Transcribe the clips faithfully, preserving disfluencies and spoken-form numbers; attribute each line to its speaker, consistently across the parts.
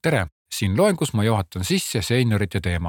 Speaker 1: tere! Siin loengus ma juhatan sisse seeniorite teema.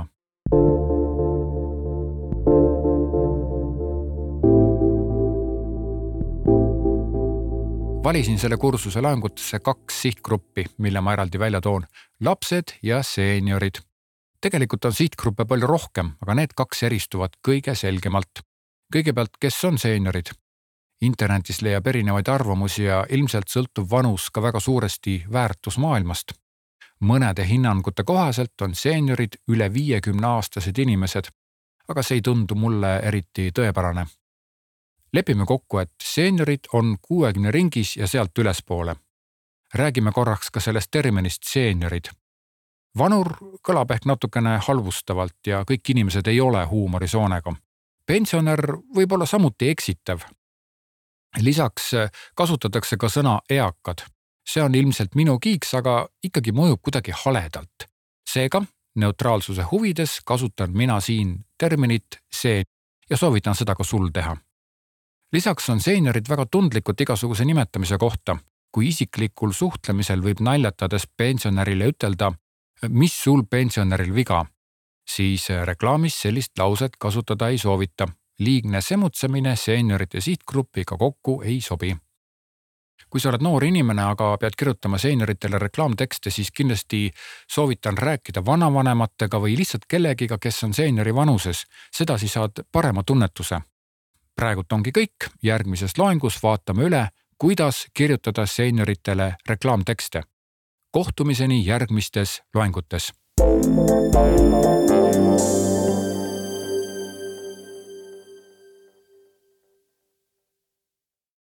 Speaker 1: Valisin selle kursuse loengutesse kaks sihtgruppi, mille ma eraldi välja toon. Lapsed ja seeniorid. Tegelikult on sihtgruppe palju rohkem, aga need kaks eristuvad kõige selgemalt. Kõigepealt, kes on seeniorid? Internetis leiab erinevaid arvamusi ja ilmselt sõltub vanus ka väga suuresti väärtusmaailmast. Mõnede hinnangute kohaselt on seeniorid üle viiekümne aastased inimesed, aga see ei tundu mulle eriti tõepärane. Lepime kokku, et seeniorid on kuuekümne ringis ja sealt ülespoole. Räägime korraks ka sellest terminist seeniorid. Vanur kõlab ehk natukene halvustavalt ja kõik inimesed ei ole huumorisoonega. Pensionär võib olla samuti eksitav. Lisaks kasutatakse ka sõna eakad. See on ilmselt minu kiiks, aga ikkagi mõjub kuidagi haledalt. Seega, neutraalsuse huvides kasutan mina siin terminit seen ja soovitan seda ka sul teha. Lisaks on seeniorid väga tundlikud igasuguse nimetamise kohta. Kui isiklikul suhtlemisel võib naljatades pensionärile ütelda, mis sul pensionäril viga, siis reklaamis sellist lauset kasutada ei soovita. Liigne semutsemine seeniorite sihtgruppiga kokku ei sobi. Kui sa oled noor inimene, aga pead kirjutama seenioritele reklaamtekste, siis kindlasti soovitan rääkida vanavanematega või lihtsalt kellegiga, kes on seeniori vanuses. Seda siis saad parema tunnetuse. Praegult ongi kõik. Järgmises loengus vaatame üle, kuidas kirjutada seenioritele reklaamtekste. Kohtumiseni järgmistes loengutes.